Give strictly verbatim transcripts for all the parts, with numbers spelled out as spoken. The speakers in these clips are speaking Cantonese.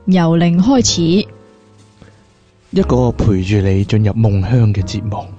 由零開始， 一個陪住你進入夢鄉嘅節目。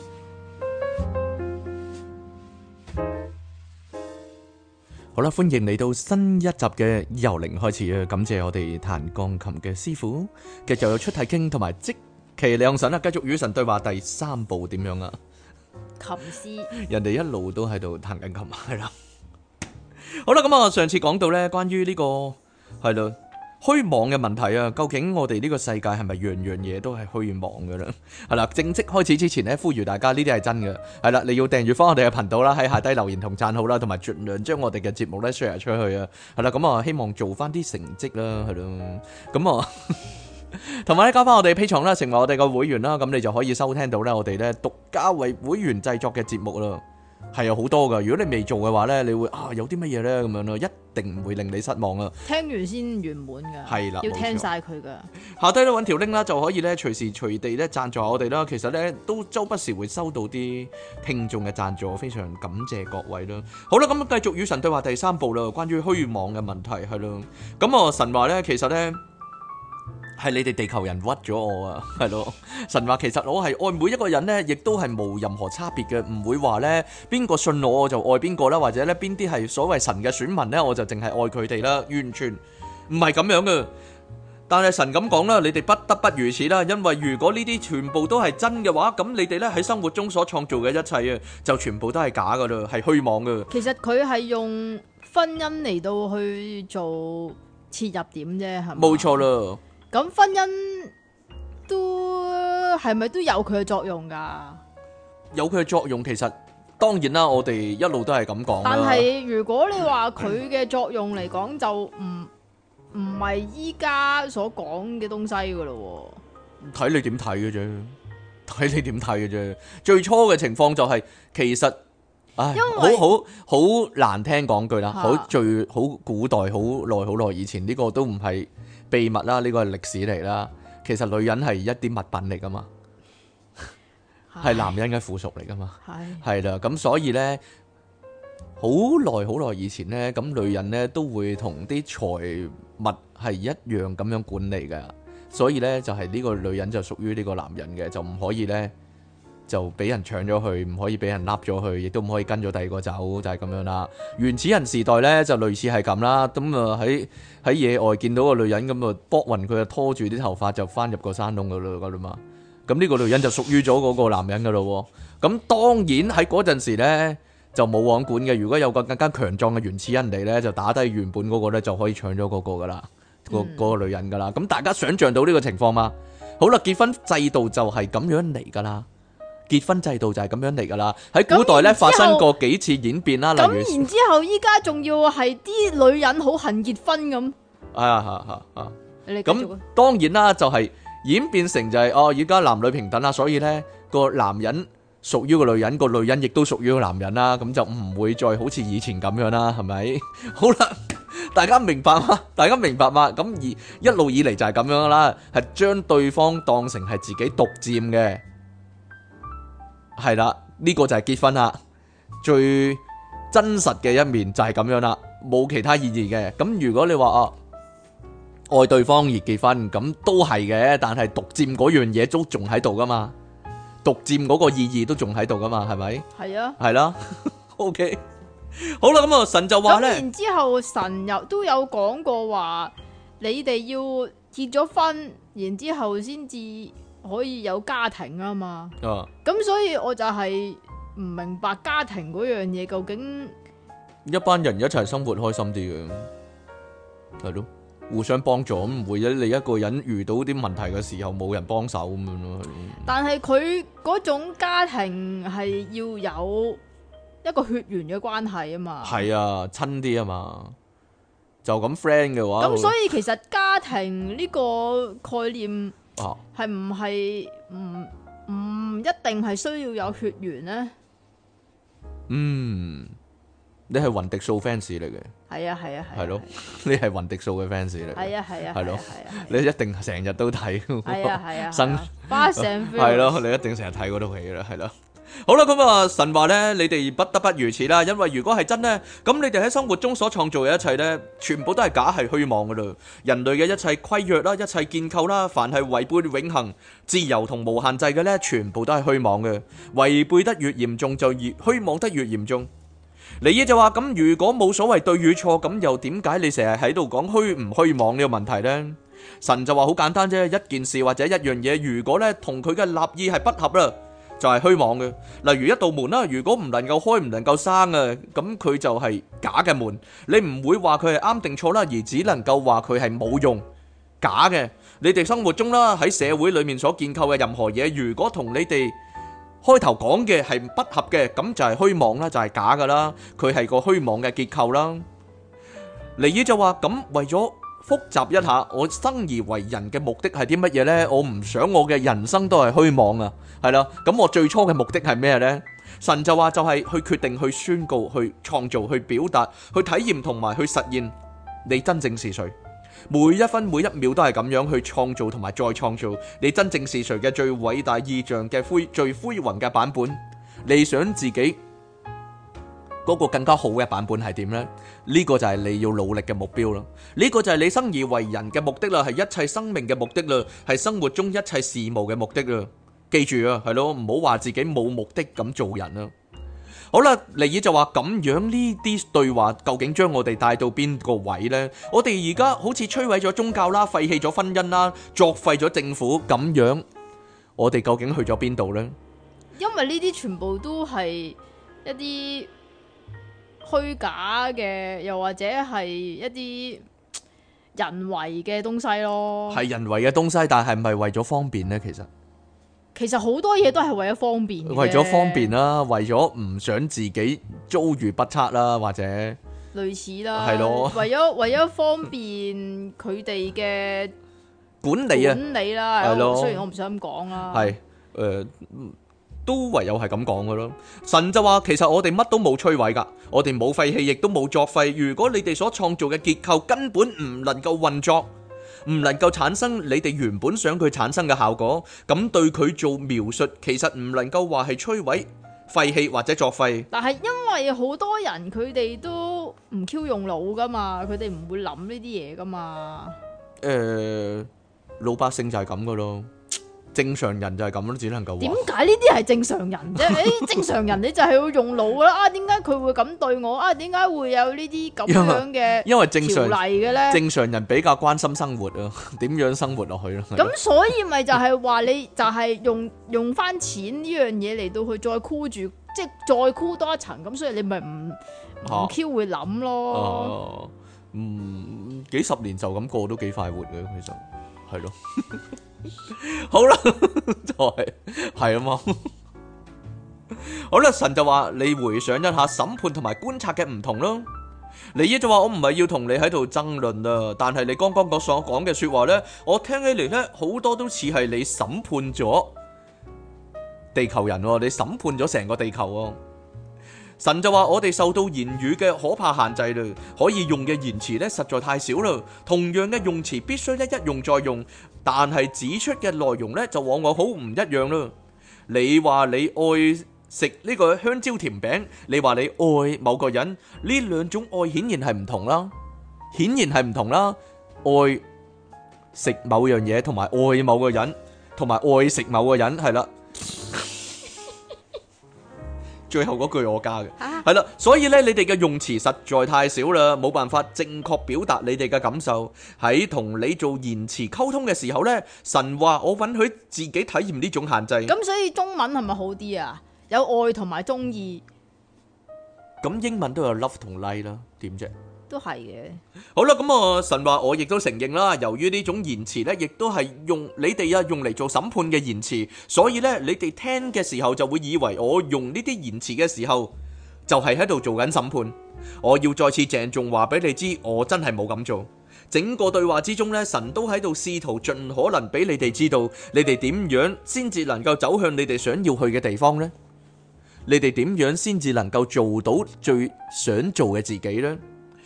好啦，歡迎嚟到新一集嘅由零開始啊！感謝我哋彈鋼琴嘅師傅，繼續有出體傾同埋即其兩神啊！繼續與神對話第三部點樣啊？ 琴師， 人哋一路都喺度彈緊琴，係啦。好啦，咁啊，上次講到咧，關於呢個係咯虛妄嘅問題啊，究竟我哋呢個世界係咪樣樣嘢都係虛妄嘅咧？係啦，正式開始之前咧，呼籲大家呢啲係真嘅，係啦，你要訂閱翻我哋嘅頻道啦，喺下低留言同讚好啦，同埋盡量將我哋嘅節目咧 share 出去啊，係啦，咁啊，希望做翻啲成績啦，係咯，咁啊。同埋咧，加翻我哋 Patreon啦，成為我哋個會員啦，咁你就可以收聽到咧我哋咧獨家為會員製作嘅節目啦，係有好多噶。如果你未做嘅話咧，你會啊有啲乜嘢咧咁樣咯，一定唔會令你失望啊！ 聽完先圓滿噶， 係啦， 要聽晒佢噶。 下低咧揾條 link 啦，就可以咧隨時隨地咧贊助我哋啦。其實咧都周不時會收到啲聽眾嘅贊助，非常感謝各位啦。好啦，咁繼續與神對話第三部啦，關於虛妄嘅問題係咯。咁啊神話咧，其實咧。係你哋地球人屈咗我啊，係咯？神話其實我係愛每一個人咧，亦都係冇任何差別嘅，唔會話咧邊個信我我就愛邊個啦，或者咧邊啲係所謂神嘅選民咧，我就淨係愛佢哋啦，完全唔係咁樣嘅。但係神咁講啦，你哋不得不如此啦，因為如果呢啲全部都係真嘅話，咁你哋咧喺生活中所創造嘅一切啊，就全部都係假噶啦，係虛妄噶。 其實佢係用婚姻嚟到去做切入點啫，係咪？ 冇錯啦。 咁婚姻都係咪都有佢嘅作用噶？ 有佢嘅作用，其實當然啦，我哋一路都係咁講。 但係如果你話佢嘅作用嚟講，就唔唔係依家所講嘅東西噶咯。 睇你點睇嘅啫，睇你點睇嘅啫。最初嘅情況就係、是、其實，唉，好好好難聽講句啦，好、啊、最好古代好耐好耐以前呢、這個都唔係秘密啦，呢個係歷史嚟啦。其實女人係一啲物品嚟噶嘛，係男人嘅附屬嚟噶嘛，係啦。咁所以呢，好耐好耐以前呢，咁女人呢都會同啲財物係一樣咁樣管理噶。所以呢，就係呢個女人就屬於呢個男人嘅，就唔可以呢就俾人搶咗去，唔可以俾人笠咗去，亦都唔可以跟咗第二個走，就係咁樣啦。原始人時代咧就類似係咁啦，咁啊喺喺野外見到個女人咁啊，搏暈佢啊，拖住啲頭髮就翻入個山窿噶啦嘛。咁呢個女人就屬於咗嗰個男人噶咯。咁當然喺嗰陣時咧就冇王管嘅，如果有個更加強壯嘅原始人嚟咧，就打低原本嗰個咧就可以搶咗嗰個噶啦，個嗰個女人噶啦。咁大家想象到呢個情況嘛？好啦，結婚制度就係咁樣嚟噶啦。結婚制度就係咁樣嚟噶啦，喺古代咧發生過幾次演變啦，例如咁然之後依家仲要係啲女人好恨結婚咁， 啊啊啊啊！ 你咁當然啦，就係演變成就係、是、哦，而家男女平等啦，所以咧個男人屬於個女人，個女人亦都屬於個男人啦，咁就唔會再好似以前咁樣啦，係咪？好啦，大家明白嗎？大家明白嗎？咁而一路以嚟就係咁樣啦，係將對方當成係自己獨佔嘅。係啦，呢個就係結婚啦，最真實嘅一面就係咁樣啦，冇其他意義嘅。咁如果你話啊愛對方而結婚，咁都係嘅，但係獨佔嗰樣嘢都仲喺度噶嘛，獨佔嗰個意義都仲喺度噶嘛，係咪？係啊，係啦，OK，好啦，咁啊神就話咧， 咁然之後神又都有講過話，你哋要結咗婚，然之後先至可以有家庭啊嘛，咁、啊、所以我就係唔明白家庭嗰樣嘢究竟一班人一齊生活開心啲嘅，係咯，互相幫助，唔會你一個人遇到啲問題嘅時候冇人幫手咁樣咯。 但係佢嗰種家庭係要有一個血緣嘅關係啊嘛，係啊， 親啲啊嘛，就咁 friend 嘅話， 咁所以其實家庭呢個概念。係唔係唔唔一定係需要有血緣呢？ 嗯，你係雲迪素 fans 嚟嘅， 係啊係啊係，係咯， 你係雲迪素嘅 fans 嚟， 係啊係啊，係咯， 你一定成日都睇， 係啊係啊， 生巴成 fans， 係咯，你一定成日睇嗰套戲啦，係咯。 好啦，咁啊，神話呢，你哋不得不如此啦，因為如果係真呢，咁你哋喺生活中所創造嘅一切呢，全部都係假，係虛妄噶啦。人類嘅一切規約啦，一切建構啦，凡係違背永恆、自由同無限制嘅呢，全部都係虛妄嘅。違背得越嚴重，就越虛妄得越嚴重。尼爾就話：咁如果冇所謂對與錯，咁又點解你成日喺度講虛唔虛妄呢個問題呢？神就話好簡單啫，一件事或者一樣嘢，如果呢同佢嘅立意係不合啦，就係虛妄嘅。例如一道門啦，如果唔能夠開，唔能夠閂啊，咁佢就係假嘅門。你唔會話佢係啱定錯啦，而只能夠話佢係冇用、假嘅。你哋生活中啦，喺社會裏面所建構嘅任何嘢，如果同你哋開頭講嘅係不合嘅，咁就係虛妄啦，就係假噶啦。佢係個虛妄嘅結構啦。尼爾就話：咁為咗複雜一下，我生而為人嘅目的係啲乜嘢呢？我唔想我嘅人生都係虛妄啊，係啦。咁我最初嘅目的係咩呢？神就話就係去決定、去宣告、去創造、去表達、去體驗同埋去實現你真正是誰。每一分每一秒都係咁樣去創造同埋再創造你真正是誰嘅最偉大意象嘅灰最輝煌嘅版本。你想自己嗰個更加好嘅版本係點呢？呢個就係你要努力嘅目標啦。呢個就係你生而為人嘅目的啦，係一切生命嘅目的啦，係生活中一切事務嘅目的啦。記住啊，係咯，唔好話自己冇目的咁做人啦。好啦，尼爾就話咁樣呢啲對話究竟將我哋帶到邊個位呢？我哋而家好似摧毀咗宗教啦，廢棄咗婚姻啦，作廢咗政府咁樣，我哋究竟去咗邊度呢？ 因為呢啲全部都係一啲虛假嘅，又或者係一啲人為嘅東西咯。係人為嘅東西，但係唔係為咗方便呢？其實其實好多嘢都係為咗方便嘅， 為咗方便啦，為咗唔想自己遭遇不測啦，或者類似啦， 係咯， 為咗為咗方便佢哋嘅管理啊， 管理啦，係咯。雖然我唔想咁講啦， 係誒，都唯有係咁講噶咯。神就話，其實我哋乜都冇摧毀噶，我哋冇廢棄，亦都冇作廢。如果你哋所創造嘅結構根本唔能夠運作，唔能夠產生你哋原本想佢產生嘅效果，咁對佢做描述，其實唔能夠話係摧毀、廢棄或者作廢。 但係因為好多人佢哋都唔 Q 用腦噶嘛，佢哋唔會諗呢啲嘢噶嘛。 誒、呃，老百姓就係咁噶咯。正常人就係咁咯，只能夠話。點解呢啲係正常人啫？誒，正常人你就係要用腦啦。啊，點解佢會咁對我？啊，點解會有呢啲咁樣嘅因為正常條例嘅咧？ 正常人比較關心生活啊，點樣生活落去咯。 咁所以咪就係話你就係用用翻錢呢樣嘢嚟到去再箍住，即係再箍多一層。咁所以你咪唔唔 Q 會諗咯。 啊，嗯，幾十年就咁過都幾快活嘅，其實係咯。好啦，就係係啊嘛。好啦，神就話你回想一下審判同埋觀察嘅唔同咯。尼爾就話我唔係要同你喺度爭論啊，但係你剛剛所講嘅說話呢，我聽起嚟呢，好多都似係你審判咗地球人，你審判咗成個地球。神就話我哋受到言語嘅可怕限制啦，可以用嘅言辭咧實在太少啦。同樣嘅用詞必須咧一用再用，但係指出嘅內容咧就往往好唔一樣啦。你話你愛食呢個香蕉甜餅，你話你愛某個人，呢兩種愛顯然係唔同啦，顯然係唔同啦。愛食某樣嘢同埋愛某個人，同埋愛食某個人係啦。最後嗰句我加嘅，係啦，所以咧你哋嘅用詞實在太少啦，冇辦法正確表達你哋嘅感受。喺同你做言辭溝通嘅時候咧，神話我允許自己體驗呢種限制。 咁所以中文係咪好啲啊？有愛同埋中意。 咁英文都有 love 同 like 啦，點啫？ 都係嘅。 好啦，咁啊神話我亦都承認啦，由於呢種言辭咧，亦都係用你哋啊用嚟做審判嘅言辭，所以咧你哋聽嘅時候就會以為我用呢啲言辭嘅時候就係喺度做緊審判。我要再次鄭重話俾你知，我真係冇咁做。整個對話之中咧，神都喺度試圖盡可能俾你哋知道，你哋點樣先至能夠走向你哋想要去嘅地方呢？你哋點樣先至能夠做到最想做嘅自己呢？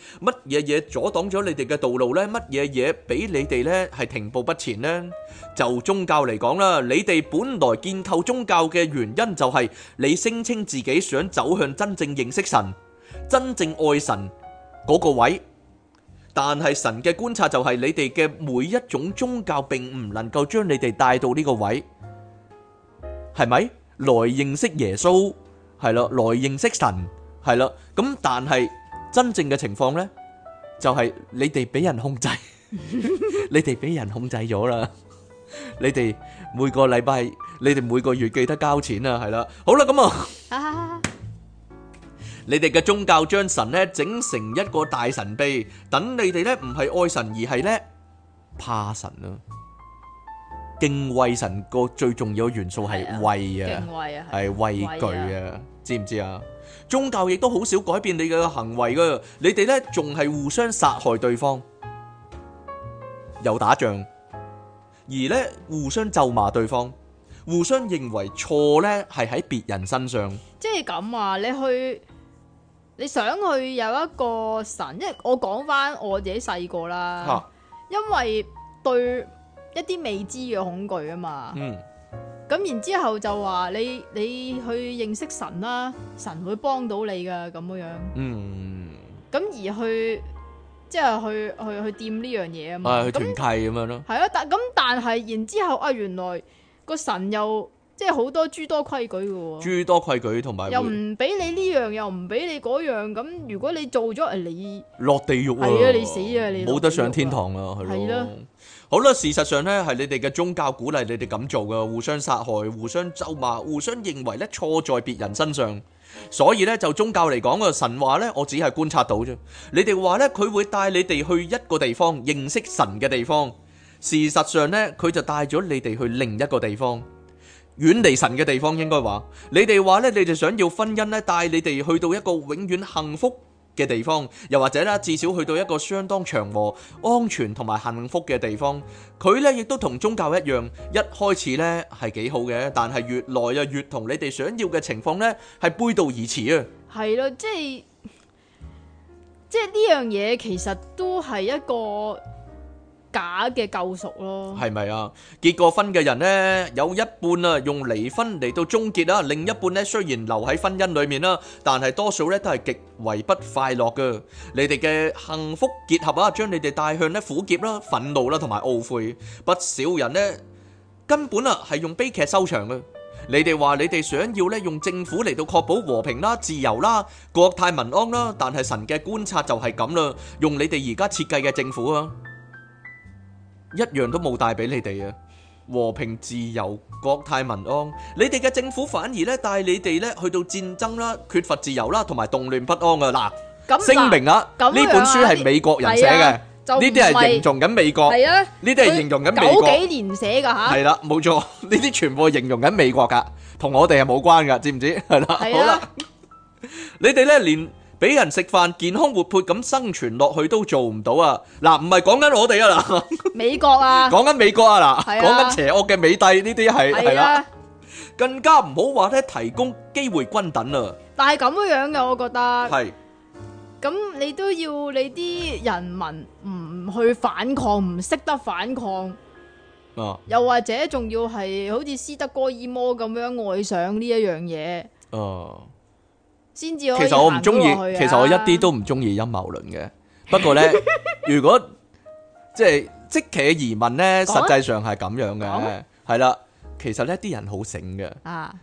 乜嘢嘢阻擋咗你哋嘅道路呢？乜嘢嘢俾你哋呢係停步不前呢？就宗教嚟講啦，你哋本來建構宗教嘅原因就係你聲稱自己想走向真正認識神、真正愛神嗰個位，但係神嘅觀察就係你哋嘅每一種宗教並唔能夠將你哋帶到呢個位，係咪？來認識耶穌，係啦，來認識神，係啦。咁但係真正嘅情況呢，就係你哋俾人控制，你哋俾人控制咗啦。你哋每個禮拜，你哋每個月記得交錢啊，係啦。好啦，咁啊，你哋嘅宗教將神呢整成一個大神秘，等你哋呢唔係愛神，而係呢怕神啊。敬畏神個最重要元素係畏啊，係畏懼啊，知唔知啊？宗教亦都好少改變你嘅行為噶，你哋呢仲係互相殺害對方，又打仗，而呢互相咒罵對方，互相認為錯呢係喺別人身上。 即係咁啊！你去你想去有一個神，因為我講翻我自己細個啦，啊、因為對一啲未知嘅恐懼啊嘛，嗯，咁然之後就話你你去認識神啦，神會幫到你噶咁樣，嗯，咁而去即係去去去掂呢樣嘢啊嘛， 去團契咁樣咯，係啊，但咁但係然之後啊，原來個神又即係好多諸多規矩嘅喎， 諸多規矩同埋又唔俾你呢樣，又唔俾你嗰樣，咁如果你做咗，誒你落地獄啊， 係啊，你死啊，你冇得上天堂啊，係咯。好啦，事實上咧，係你哋嘅宗教鼓勵你哋咁做嘅，互相殺害、互相咒罵、互相認為咧錯在別人身上。所以咧，就宗教嚟講嘅神話咧，我只係觀察到啫。你哋話咧，佢會帶你哋去一個地方認識神嘅地方。事實上咧，佢就帶咗你哋去另一個地方，遠離神嘅地方。應該話，你哋話咧，你哋想要婚姻咧，帶你哋去到一個永遠幸福嘅地方，又或者咧，至少去到一個相當祥和、安全同埋幸福嘅地方。佢咧亦都同宗教一樣，一開始咧係幾好嘅，但係越來啊越同你哋想要嘅情況咧係背道而馳啊。係咯，即係即係呢樣嘢，其實都係一個假嘅救贖咯，係咪啊？結過婚嘅人呢，有一半啊用離婚嚟到終結啦，另一半呢雖然留喺婚姻裏面啦，但係多數呢都係極為不快樂噶。你哋嘅幸福結合啊，將你哋帶向呢苦澀啦、憤怒啦同埋懊悔。不少人呢根本啊係用悲劇收場噶。你哋話你哋想要呢用政府嚟到確保和平啦、自由啦、國泰民安啦，但係神嘅觀察就係咁啦，用你哋而家設計嘅政府啊，一樣都冇帶俾你哋啊！和平、自由、國泰民安，你哋嘅政府反而咧帶你哋咧去到戰爭啦、缺乏自由啦，同埋動亂不安啊！嗱，聲明啊，呢本書係美國人寫嘅，呢啲係形容緊美國，係啊，呢啲係形容緊美國九幾年寫噶吓，係啦，冇錯，呢啲全部係形容緊美國噶，同我哋係冇關噶，知唔知？係啦，好啦，你哋咧連俾人食飯健康活潑咁生存落去都做唔到啊！嗱，唔係講緊我哋啊嗱，美國啊，講緊美國啊嗱，講緊邪惡嘅美帝呢啲係係啦，更加唔好話咧提供機會均等啊！但係咁樣嘅，我覺得係，咁你都要你啲人民唔去反抗，唔識得反抗啊，又或者仲要係好似斯德哥爾摩咁樣愛上呢一樣嘢哦。其實我唔中意，其實我一啲都唔中意陰謀論嘅。不過呢，如果即係即其嘅疑問呢，實際上係咁樣嘅，係啦。其實呢啲人好醒嘅。啊，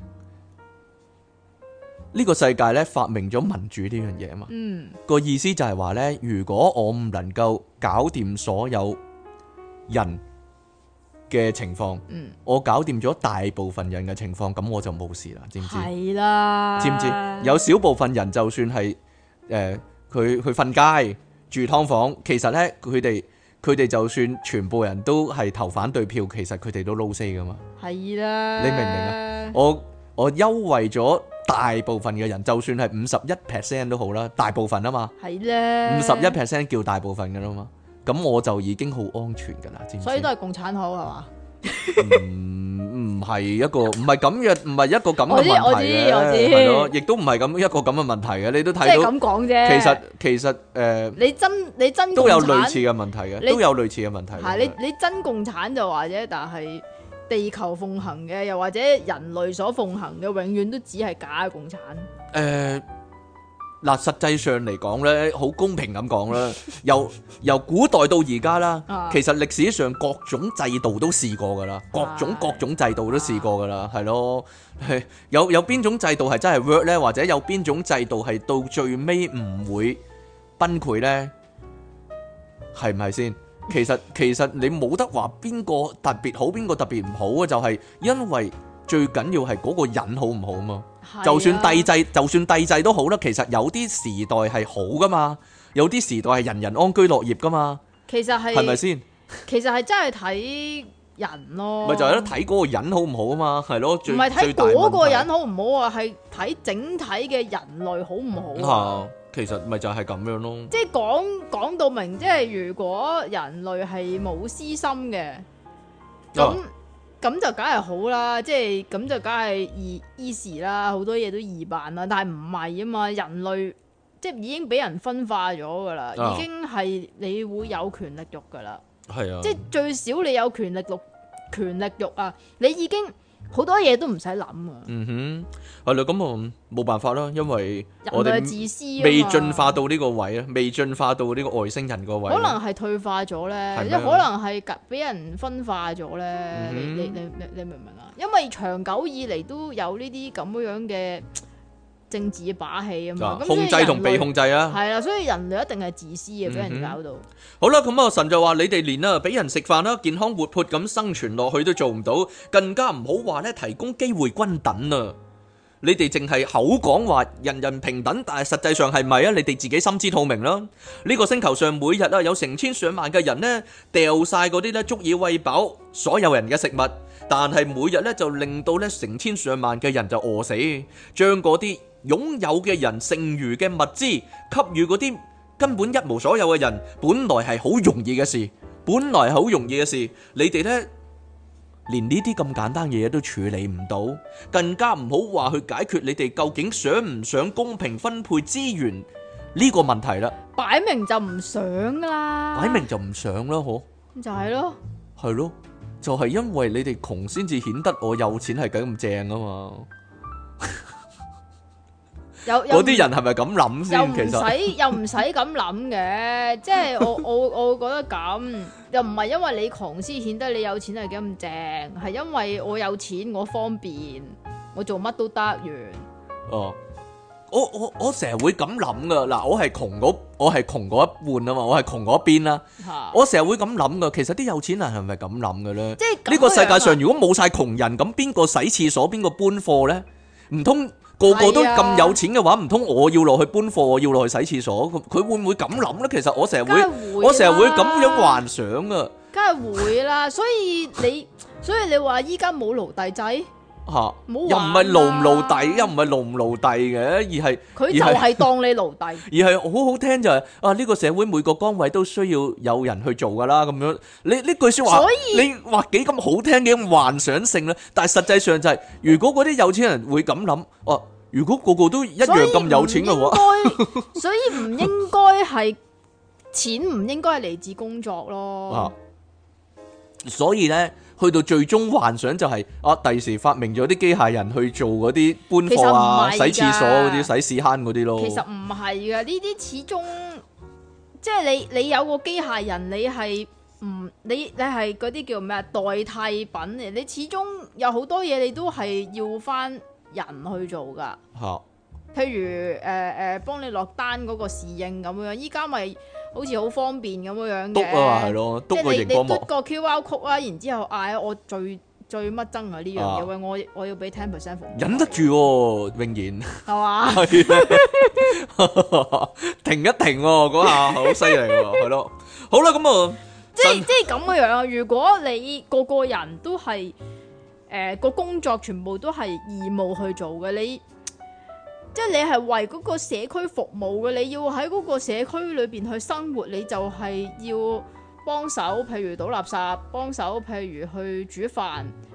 呢個世界呢發明咗民主呢樣嘢嘛。嗯，個意思就係話呢，如果我唔能夠搞掂所有人嘅情況，嗯，我搞掂咗大部分人嘅情況，咁我就冇事啦，知唔知？係啦，知唔知？有少部分人就算係誒，佢去瞓街住劏房，其實咧佢哋佢哋就算全部人都係投反對票，其實佢哋都撈死噶嘛。係啦，你明唔明啊？我我優惠咗大部分嘅人，就算係五十一 percent 都好啦，大部分啊嘛。係啦，五十一 percent 叫大部分噶啦嘛。咁我就已經好安全噶啦，知唔知？所以都係共產好係嘛？唔唔唔係一個唔係咁嘅，唔係一個咁嘅問題嘅，係咯，亦都唔係咁一個咁嘅問題嘅。你都睇到， 即係咁講啫。 其實其實誒、呃， 你真你真都有類似嘅問題嘅，都有類似嘅問題。 係你你真共產就話啫，但係地球奉行嘅，又或者人類所奉行嘅，永遠都只係假嘅共產。誒、 呃。嗱，實際上嚟講咧，好公平咁講啦，由由古代到而家啦，啊、其實歷史上各種制度都試過噶啦，各種各種制度都試過噶啦，係咯，係有有邊種制度係真係 work 咧，或者有邊種制度係到最尾唔會崩潰咧？係唔係先？其實其實你冇得話邊個特別好，邊個特別唔好啊，就係、是、因為最緊要係嗰個人好唔好啊嘛。就算帝制，就算帝制都好啦。其實有啲時代係好噶嘛，有啲時代係人人安居樂業噶嘛。其實係係咪先？其實係真係睇人咯。咪就係咯，睇嗰個人好唔好啊嘛，係咯。唔係睇嗰個人好唔好啊，係睇整體嘅人類好唔好啊。其實咪就係咁樣咯。即係講講到明，即係如果人類係冇私心嘅咁。啊咁就梗係好啦，即係咁就梗係易 easy 啦，好多嘢都易辦啦。但係唔係啊嘛，人類即係已經俾人分化咗噶啦，啊、已經係你會有權力慾噶啦。係啊，即係最少你有權力慾，權力慾啊，你已經好多嘢都唔使諗啊。嗯哼，係啦，咁啊冇辦法啦，因為我哋自私未進化到呢個位啊，未進化到呢個外星人個位。可能係退化咗咧，即係可能係俾人分化咗咧。嗯、你你你你你明唔明啊？因為長久以嚟都有呢啲咁樣嘅政治把戲啊嘛，控制同被控制啊，係啦，所以人類一定係自私嘅，俾人搞到。嗯、好啦，咁啊神就話你哋連啊俾人食飯啦，健康活潑咁生存落去都做唔到，更加唔好話咧提供機會均等啊！你哋淨係口講話人人平等，但係實際上係咪啊？你哋自己心知肚明啦。呢個星球上每日啊有成千上萬嘅人呢掉晒嗰啲咧足以餵飽所有人嘅食物，但係每日咧就令到咧成千上萬嘅人就餓死，將嗰啲擁有嘅人剩餘嘅物資給予嗰啲根本一無所有嘅人，本來係好容易嘅事，本來係好容易嘅事，你哋呢，連呢啲咁簡單嘅嘢都處理唔到，更加唔好話去解決你哋究竟想唔想公平分配資源呢個問題啦。擺明就唔想啦，擺明就唔想啦，嗬，就係咯，係咯，就係因為你哋窮先至顯得我有錢係咁正啊嘛。嗰啲人係咪咁諗先？其實又唔使又唔使咁諗嘅，即係我我我覺得咁又唔係因為你窮先顯得你有錢係幾咁正，係因為我有錢我方便，我做乜都得完。哦，我我我成日會咁諗噶，嗱，我係窮嗰我係窮嗰一半啊嘛，我係窮嗰一邊啦。我成日會咁諗噶，其實啲有錢人係咪咁諗嘅咧？即係呢個世界上如果冇晒窮人，咁邊個洗廁所，邊個搬貨咧？唔通？個個都咁有錢嘅話，唔通我要落去搬貨，我要落去洗廁所？佢會唔會咁諗咧？其實我成日會，會我成日會咁樣幻想啊！梗係會啦，所以你，所以你話依家冇奴隸制吓，啊、又唔係奴唔奴隸，又唔係奴唔奴隸嘅，而係佢就係當你奴隸，而係好好聽就係、是、啊！呢、這個社會每個崗位都需要有人去做噶啦，咁樣你呢句說話，所以你話幾咁好聽，幾咁幻想性咧？但係實際上就係、是，如果嗰啲有錢人會咁諗，哦、啊。如果個個都一樣咁有錢嘅話，所以唔應該係錢，唔應該係嚟自工作咯。啊，所以咧，去到最終幻想就係、是、啊，第時發明咗啲機械人去做嗰啲搬貨啊、洗廁所嗰啲、洗屎坑嗰啲咯。其實唔係噶，呢啲始終即係你你有個機械人，你係唔你你係嗰啲叫咩啊？代替品嚟，你始終有好多嘢你都係要翻人去做噶，好譬如誒誒幫你落單嗰個侍應咁樣，依家咪好似好方便咁樣嘅，篤啊係咯，篤個熒光幕，篤個 Q R code 啊，然之後嗌我最最乜憎啊呢樣嘢，喂我我要俾 ten percent 服務，忍得住喎，永然係嘛？係停一停喎，嗰下好犀利喎，係咯，好啦咁啊，即係即係咁嘅樣啊！如果你個個人都係。誒個、呃、工作全部都係義務去做嘅，你即係你係為嗰個社區服務嘅，你要喺嗰個社區裏邊去生活，你就係要幫手，譬如倒垃圾，幫手譬如去煮飯，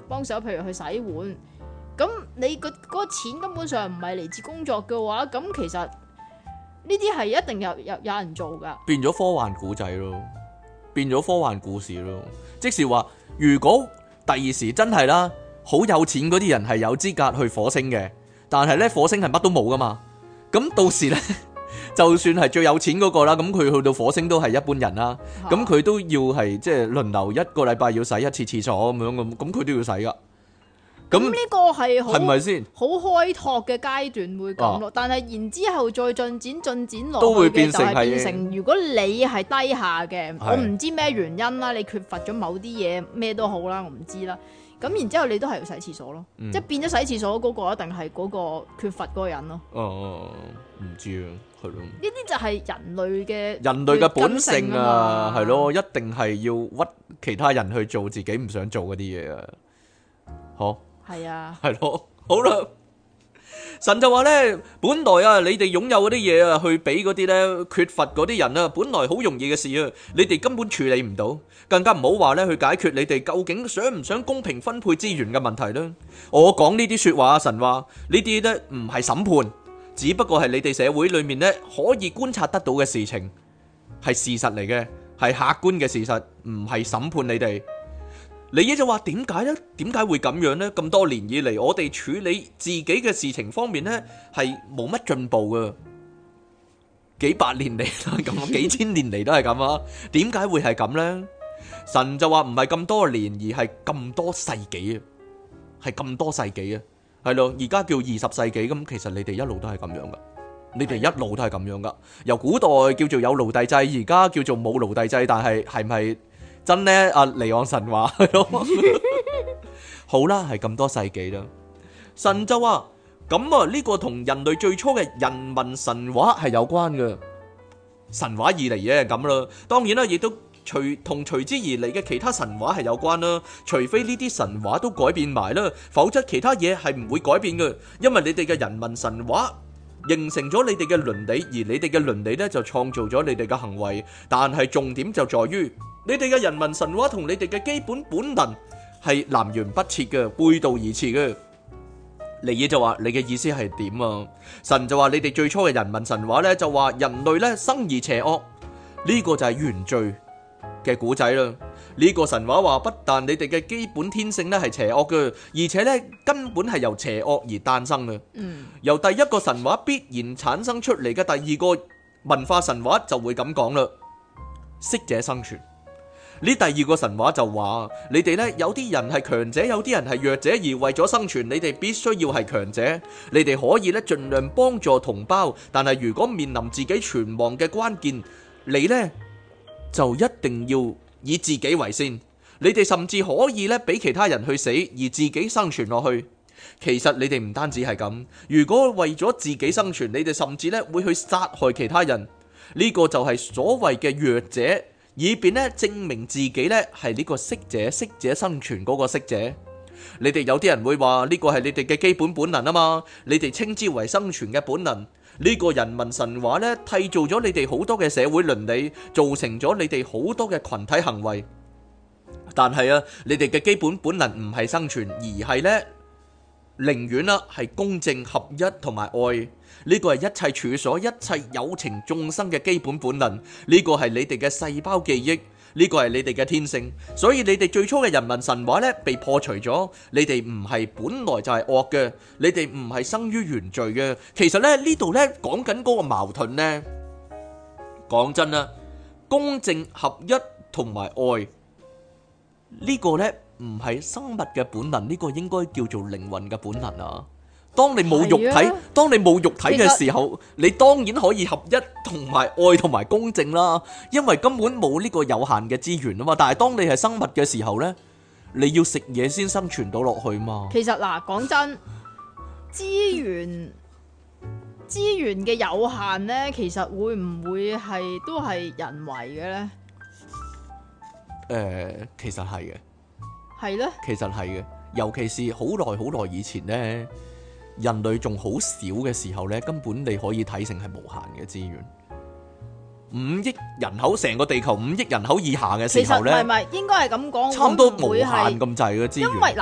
幫手，譬如去洗碗。咁你個嗰個錢根本上唔係嚟自工作嘅話，咁其實呢啲係一定有有有人做噶。 變咗科幻古仔咯，變咗科幻故事咯。即是話，如果第二時真係啦，好有錢嗰啲人係有資格去火星嘅，但係咧火星係乜都冇噶嘛。咁到時咧，就算係最有錢嗰個啦，咁佢去到火星都係一般人啦。咁佢都要係即係輪流一個禮拜要洗一次廁所咁樣咁，咁佢都要洗噶。 咁呢個係好係咪先？ 好開拓嘅階段會咁咯，啊、但係然之後再進展進展落去都會變成就係變成，如果你係低下嘅， 是我唔知咩原因啦，你缺乏咗某啲嘢咩都好啦，我唔知啦。咁然之後你都係要洗廁所咯，嗯、即係變咗洗廁所嗰個一定係嗰個缺乏嗰個人咯。 哦，唔知啊，係咯。呢啲就係人類嘅人類嘅本性啊，係咯，一定係要屈其他人去做自己唔想做嗰啲嘢啊。好。 係啊， 係咯，好啦。神就話咧，本來啊，你哋擁有嗰啲嘢啊，去俾嗰啲咧缺乏嗰啲人啊，本來好容易嘅事啊，你哋根本處理唔到，更加唔好話咧去解決你哋究竟想唔想公平分配資源嘅問題啦。我講呢啲說話，神話呢啲咧唔係審判，只不過係你哋社會裏面咧可以觀察得到嘅事情，係事實嚟嘅，係客觀嘅事實，唔係審判你哋。你嘢就話點解呢？點解會咁樣呢？咁多年以嚟，我哋處理自己嘅事情方面呢，係冇乜進步噶。幾百年嚟都係咁，幾千年嚟都係咁啊！點解會係咁呢？神就話唔係咁多年，而係咁多世紀啊，係咁多世紀啊，係咯。而家叫二十世紀咁，其實你哋一路都係咁樣噶，你哋一路都係咁樣噶。由古代叫做有奴隸制，而家叫做冇奴隸制，但係係咪？真呢，阿離岸神話咯，好啦，係咁多世紀啦。神就話咁啊，呢個同人類最初嘅人民神話係有關嘅。神話以嚟嘅係咁啦，當然啦，亦都隨同隨之而嚟嘅其他神話係有關啦。除非呢啲神話都改變埋啦，否則其他嘢係唔會改變嘅。因為你哋嘅人民神話形成咗你哋嘅倫理，而你哋嘅倫理呢就創造咗你哋嘅行為。但係重點就在於，你哋嘅人民神話同你哋嘅基本本能係南轅北轍嘅，背道而馳嘅。尼爾就話：你嘅意思係點啊？神就話：你哋最初嘅人民神話咧，就話人類咧生而邪惡，呢個就係原罪嘅古仔啦。呢個神話話，不但你哋嘅基本天性咧係邪惡嘅，而且咧根本係由邪惡而誕生嘅。嗯，由第一個神話必然產生出嚟嘅第二個文化神話就會咁講啦：適者生存。呢第二個神話就話，你哋呢有啲人係強者，有啲人係弱者，而為咗生存，你哋必須要係強者。你哋可以呢盡量幫助同胞，但係如果面臨自己存亡嘅關鍵，你呢就一定要以自己為先。你哋甚至可以呢俾其他人去死，而自己生存落去。其實你哋唔單止係咁，如果為咗自己生存，你哋甚至呢會去殺害其他人。呢個就係所謂嘅弱者。以便咧證明自己咧係呢個適者，適者生存嗰個適者。你哋有啲人會話呢個係你哋嘅基本本能啊嘛，你哋稱之為生存嘅本能。呢個人民神話咧締造咗你哋好多嘅社會倫理，造成咗你哋好多嘅群體行為。但係啊，你哋嘅基本本能唔係生存，而係咧寧願啦係公正合一同埋愛。呢個係一切處所、一切有情眾生嘅基本本能。呢個係你哋嘅細胞記憶，呢個係你哋嘅天性。所以你哋最初嘅人民神話呢被破除咗。你哋唔係本來就係惡嘅，你哋唔係生於原罪嘅。其實咧呢度呢講緊嗰個矛盾呢，講真啦，公正合一同埋愛呢個呢唔係生物嘅本能，呢個應該叫做靈魂嘅本能啊。當你冇肉體，啊、當你冇肉體嘅時候，你當然可以合一同埋愛同埋公正啦，因為根本冇呢個有限嘅資源啊嘛。但係當你係生物嘅時候呢，你要食嘢先生存到落去嘛。其實嗱，講真，資源資源嘅有限呢，其實會唔會係都係人為嘅呢？誒、呃，其實係嘅，係咧，其實係嘅，尤其是好耐好耐以前呢。人類仲好少嘅時候呢，根本你可以睇成係無限嘅資源。五億人口，成個地球五億人口以下嘅時候呢，其實唔係唔係，應該係咁講，差唔多無限咁滯嘅資源。因為嗱，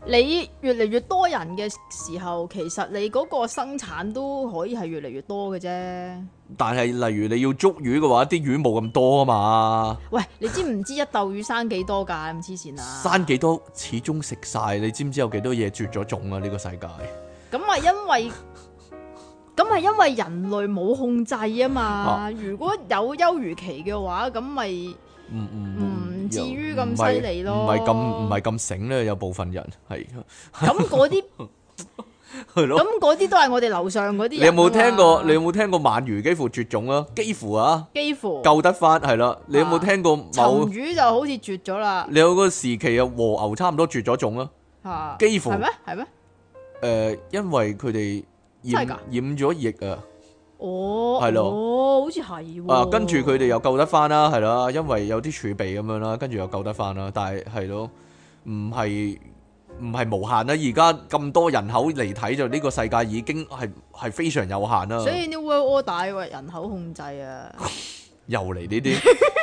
你越嚟越多人嘅時候，其實你嗰個生產都可以係越嚟越多嘅啫。 但係例如你要捉魚嘅話，啲魚冇咁多啊嘛。 喂，你知唔知一竇魚生幾多㗎？咁黐線啊！ 生幾多始終食晒，你知唔知有幾多嘢絕咗種啊？呢、呢個世界。 咁係因為，咁係因為人類冇控制啊嘛。啊如果有休漁期嘅話，咁咪唔唔至於咁犀利咯。唔係咁唔係咁醒咧， 有部分人係。 咁嗰啲。咁嗰啲都係我哋樓上嗰啲。 你有冇聽過？你有冇聽過鰻魚幾乎絕種啊？幾乎啊， 幾乎救得翻係啦。你有冇聽過某？ 鱘魚就好似絕咗啦。 你有個時期啊，和牛差唔多絕咗種啊。吓，幾乎係咩？係咩？誒、呃，因為佢哋染染咗疫啊。 哦， 係咯， 哦，好似係。 啊，跟住佢哋又救得翻啦，係啦，因為有啲儲備咁樣啦，跟住又救得翻啦。但係係咯，唔係。唔係無限啦，而家咁多人口嚟睇就呢個世界已經係係非常有限啦。 所以 New World Order 為人口控制啊， 又嚟呢啲，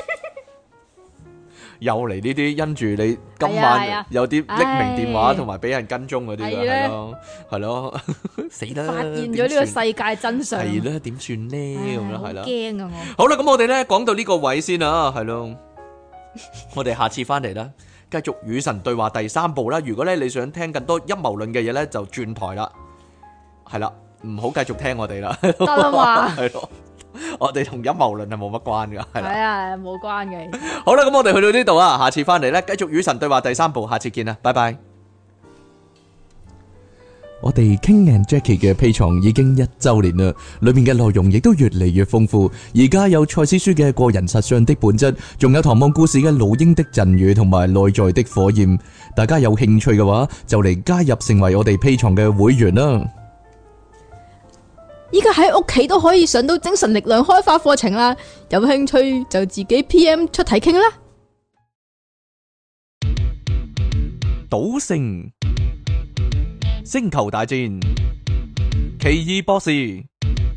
又嚟呢啲，因住你今晚有啲匿名電話同埋俾人跟蹤嗰啲嘅係咯，係咯，死啦！ 發現咗呢個世界真相係啦，點算呢？咁樣係啦， 驚啊我。 好啦，咁我哋咧講到呢個位先啊，係咯，我哋下次翻嚟啦。繼續與神對話第三部啦。如果咧你想聽更多陰謀論嘅嘢咧，就轉台啦。係啦，唔好繼續聽我哋啦。 得啦嘛。 係咯，我哋同陰謀論係冇乜關噶。係啦， 係啊，冇關嘅。 好啦，咁我哋去到呢度啊，下次翻嚟咧，繼續與神對話第三部，下次見啦，拜拜。我哋 King and Jackie 嘅 Patreon 已經一周年啦，裏面嘅內容亦都越嚟越豐富。而家有賽斯書嘅個人實相的本質，仲有唐望故事嘅老鷹的贈語同埋內在的火焰。大家有興趣嘅話，就嚟加入成為我哋 Patreon嘅會員啦。 依家喺屋企都可以上到精神力量開發課程啦，有興趣就自己 P M 出題傾啦。 賭聖、星球大戰、奇異博士，你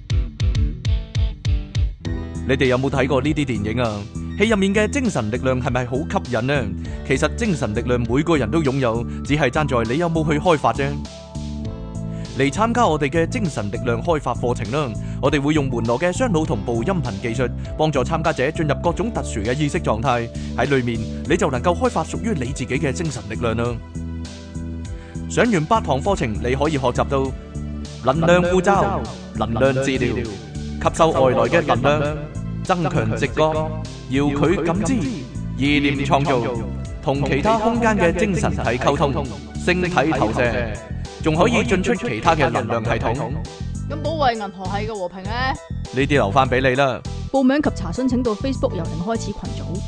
哋有冇睇過呢啲電影啊？戲入面嘅精神力量係咪好吸引呢？其實精神力量每個人都擁有，只係爭在你有冇去開發啫。嚟參加我哋嘅精神力量開發課程啦！我哋會用門羅嘅雙腦同步音頻技術，幫助參加者進入各種特殊嘅意識狀態。喺裏面你就能夠開發屬於你自己嘅精神力量啦！上完八堂課程，你可以學習到能量護罩、能量治療、吸收外來嘅能量、增強直覺、遙距感知、意念創造、同其他空間嘅精神體溝通、星體投射，仲可以進出其他嘅能量系統。 咁保衛銀河系嘅和平呢？ 呢啲留翻俾你啦。 報名及查詢請到 Facebook 由零開始群組。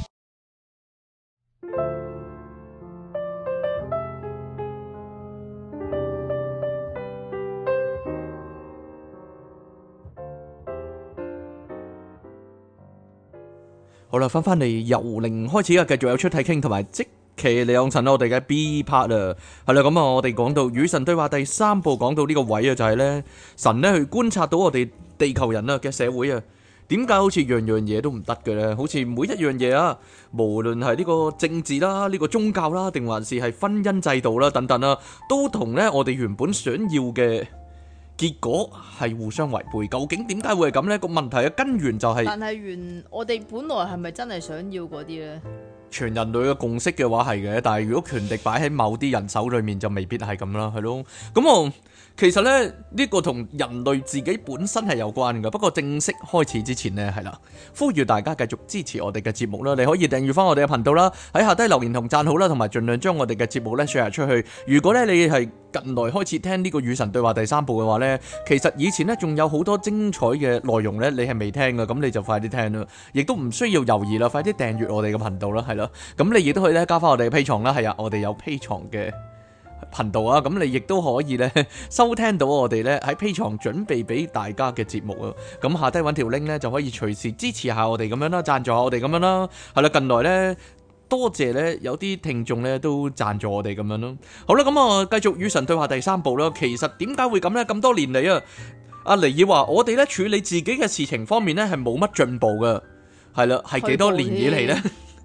好啦，翻翻嚟由零開始啊，繼續有出體傾同埋即其利用神我哋嘅 B part 啊，係啦，咁啊，我哋講到與神對話第三部，講到呢個位啊，就係咧神咧去觀察到我哋地球人啊嘅社會啊，點解好似樣樣嘢都唔得嘅咧？好似每一樣嘢啊，無論係呢個政治啦、呢個宗教啦，定還是係婚姻制度啦等等啦，都同咧我哋原本想要嘅結果係互相違背。究竟點解會係咁呢？個問題嘅根源就係，但係原我哋本來係咪真係想要嗰啲呢？全人類嘅共識嘅話係嘅，但係如果權力擺喺某啲人手裏面就未必係咁啦，係咯。咁我其實咧呢個同人類自己本身係有關嘅。不過正式開始之前呢，係啦，呼籲大家繼續支持我哋嘅節目啦。你可以訂閱翻我哋嘅頻道啦，喺下低留言同讚好啦，同埋盡量將我哋嘅節目咧 share 出去。如果咧你係近來開始聽呢個與神對話第三部嘅話呢，其實以前呢仲有好多精彩嘅內容呢，你係未聽嘅，咁你就快啲聽啦，亦都唔需要猶豫啦，快啲訂閱我哋嘅頻道啦，係咯，咁你亦都可以咧加翻我哋嘅 Patreon啦，係啊，我哋有 Patreon嘅頻道啊，咁你亦都可以咧收聽到我哋咧喺 Patreon準備俾大家嘅節目啊，咁下低揾條 link 咧就可以隨時支持下我哋咁樣啦，贊助下我哋咁樣啦，係啦，近來呢。多謝咧，有啲聽眾咧都贊助我哋咁樣咯。好啦，咁啊，繼續與神對話第三部啦。其實點解會咁咧？咁多年嚟啊，阿尼爾話我哋咧處理自己嘅事情方面咧係冇乜進步噶，係啦，係幾多年以嚟咧？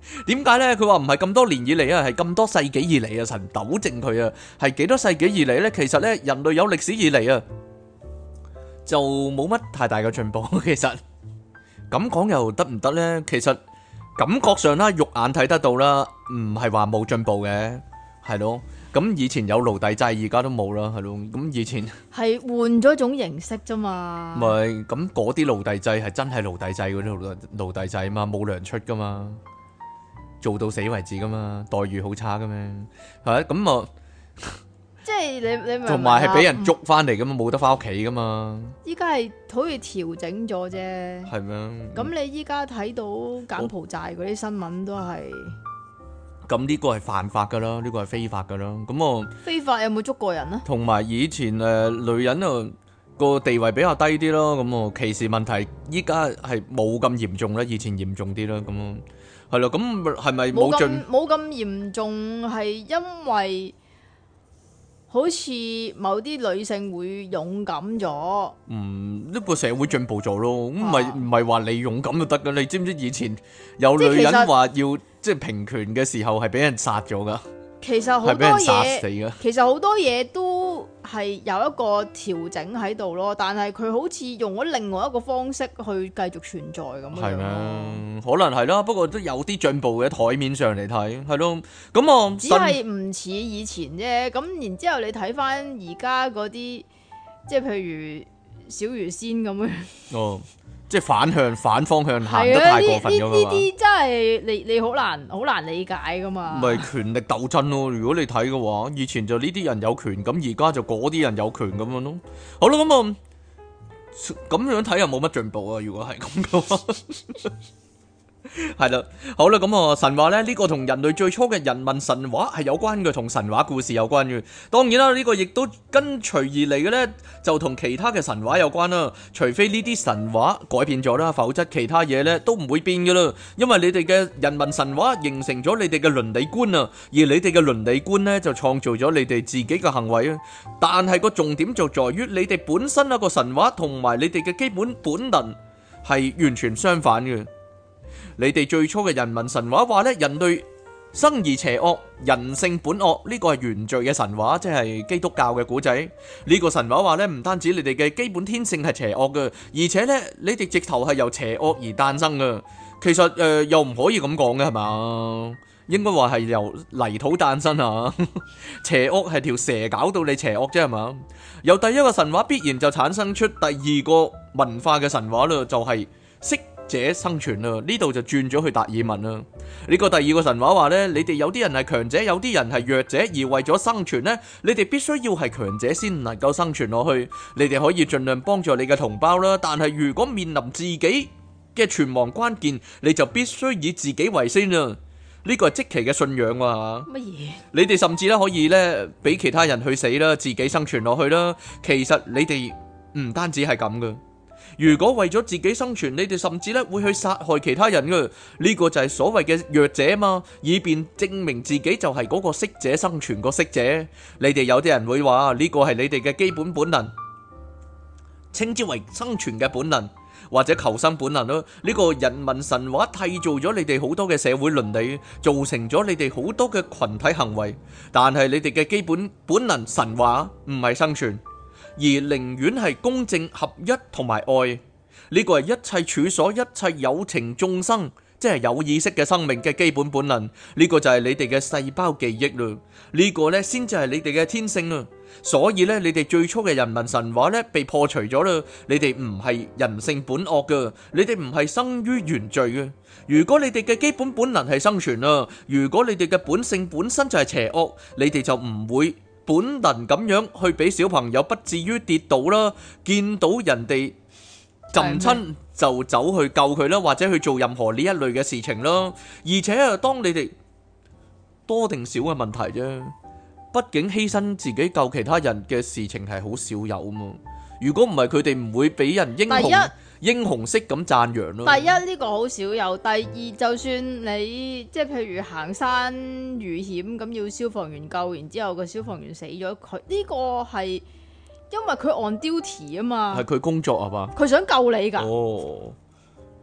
點解咧？佢話唔係咁多年以嚟啊，係咁多世紀以嚟啊，神糾正佢啊，係幾多世紀以嚟咧？其實咧，人類有歷史以嚟啊，就冇乜太大嘅進步。其實咁講又得唔得咧？其實感覺上啦，肉眼睇得到啦，唔係話冇進步嘅，係咯。咁以前有奴隸制，而家都冇啦，係咯。咁以前係換咗種形式啫嘛。 咪咁嗰啲奴隸制係真係奴隸制嗰啲奴奴隸制啊嘛，冇糧出噶嘛，做到死為止噶嘛，待遇好差噶咩？係咁啊， 即係你你同埋係俾人捉翻嚟噶嘛，冇得翻屋企噶嘛。 依家係好似調整咗啫。 係咩？ 咁你依家睇到柬埔寨嗰啲新聞都係。 咁呢個係犯法噶啦，呢個係非法噶啦。咁我非法有冇捉過人啊？ 同埋以前誒女人啊個地位比較低啲咯，咁我歧視問題依家係冇咁嚴重啦，以前嚴重啲啦，咁咯係咯。咁係咪冇進冇咁嚴重？係因為好似某啲女性會勇敢咗。 嗯，呢個社會進步咗咯。咁唔係唔係話你勇敢就得噶？你知唔知以前有女人話要即係平權嘅時候係俾人殺咗噶？ 其實好多係俾人殺死嘢， 㗎。 其實好多嘢都係有一個調整喺度咯，但係佢好似用咗另外一個方式去繼續存在咁樣。 係咩？可能係啦，不過都有啲進步嘅，台面上嚟睇，係咯。咁我只係唔似以前啫。咁然之後你睇翻而家嗰啲，即係譬如小魚仙咁樣。哦。 即係反向反方向行得太過分咗嘛？ 呢啲真係你你好難好難理解噶嘛？ 咪權力鬥爭咯！如果你睇嘅話，以前就呢啲人有權，咁而家就嗰啲人有權咁樣咯。好啦，咁啊咁樣睇又冇乜進步啊！如果係咁嘅話。係啦，好啦，咁啊神話咧，呢個同人類最初嘅人民神話係有關嘅，同神話故事有關嘅。當然啦，呢個亦都跟隨而嚟嘅呢，就同其他嘅神話有關啦。除非呢啲神話改變咗啦，否則其他嘢呢都唔會變噶啦。因為你哋嘅人民神話形成咗你哋嘅倫理觀啊，而你哋嘅倫理觀呢就創造咗你哋自己嘅行為啊。但係個重點就在於你哋本身一個神話同埋你哋嘅基本本能係完全相反嘅。你哋最初嘅人民神話話咧，人類生而邪惡，人性本惡，呢個係原罪嘅神話，即係基督教嘅古仔。呢個神話話咧，唔單止你哋嘅基本天性係邪惡嘅，而且咧你哋直頭係由邪惡而誕生嘅。其實誒又唔可以咁講嘅係嘛？應該話係由泥土誕生啊！邪惡係條蛇搞到你邪惡啫係嘛？由第一個神話必然就產生出第二個文化嘅神話啦，就係識者生存啦，呢度就轉咗去達爾文啦。呢個第二個神話話呢，你哋有啲人係強者，有啲人係弱者，而為咗生存呢，你哋必須要係強者先能夠生存落去。你哋可以盡量幫助你嘅同胞啦，但係如果面臨自己嘅存亡關鍵，你就必須以自己為先啦。呢個係積奇嘅信仰啊！ 乜嘢？ 你哋甚至咧可以咧俾其他人去死啦，自己生存落去啦。其實你哋唔單止係咁噶。如果為咗自己生存，你哋甚至咧會去殺害其他人嘅，呢個就係所謂嘅弱者嘛，以便證明自己就係嗰個適者生存個適者。你哋有啲人會話呢個係你哋嘅基本本能，稱之為生存嘅本能或者求生本能咯。呢個人民神話締造咗你哋好多嘅社會倫理，造成咗你哋好多嘅群體行為，但係你哋嘅基本本能神話唔係生存，而寧願係公正合一同埋愛。呢個係一切處所、一切有情眾生，即係有意識嘅生命嘅基本本能。呢個就係你哋嘅細胞記憶啦。呢個呢先至係你哋嘅天性啦。所以呢，你哋最初嘅人民神話呢被破除咗啦。你哋唔係人性本惡噶，你哋唔係生於原罪嘅。如果你哋嘅基本本能係生存啦，如果你哋嘅本性本身就係邪惡，你哋就唔會本能咁樣去俾小朋友不至於跌倒啦，見到人哋浸親就走去救佢啦，或者去做任何呢一類嘅事情啦。而且啊，當你哋多定少嘅問題啫，畢竟犧牲自己救其他人嘅事情係好少有啊嘛。如果唔係，佢哋唔會俾人英雄英雄式咁讚揚咯。第一呢個好少有，第二就算你即係譬如行山遇險咁要消防員救，然之後個消防員死咗，佢呢個係因為佢 on duty 啊嘛， 係佢工作係嘛， 佢想救你噶。 哦，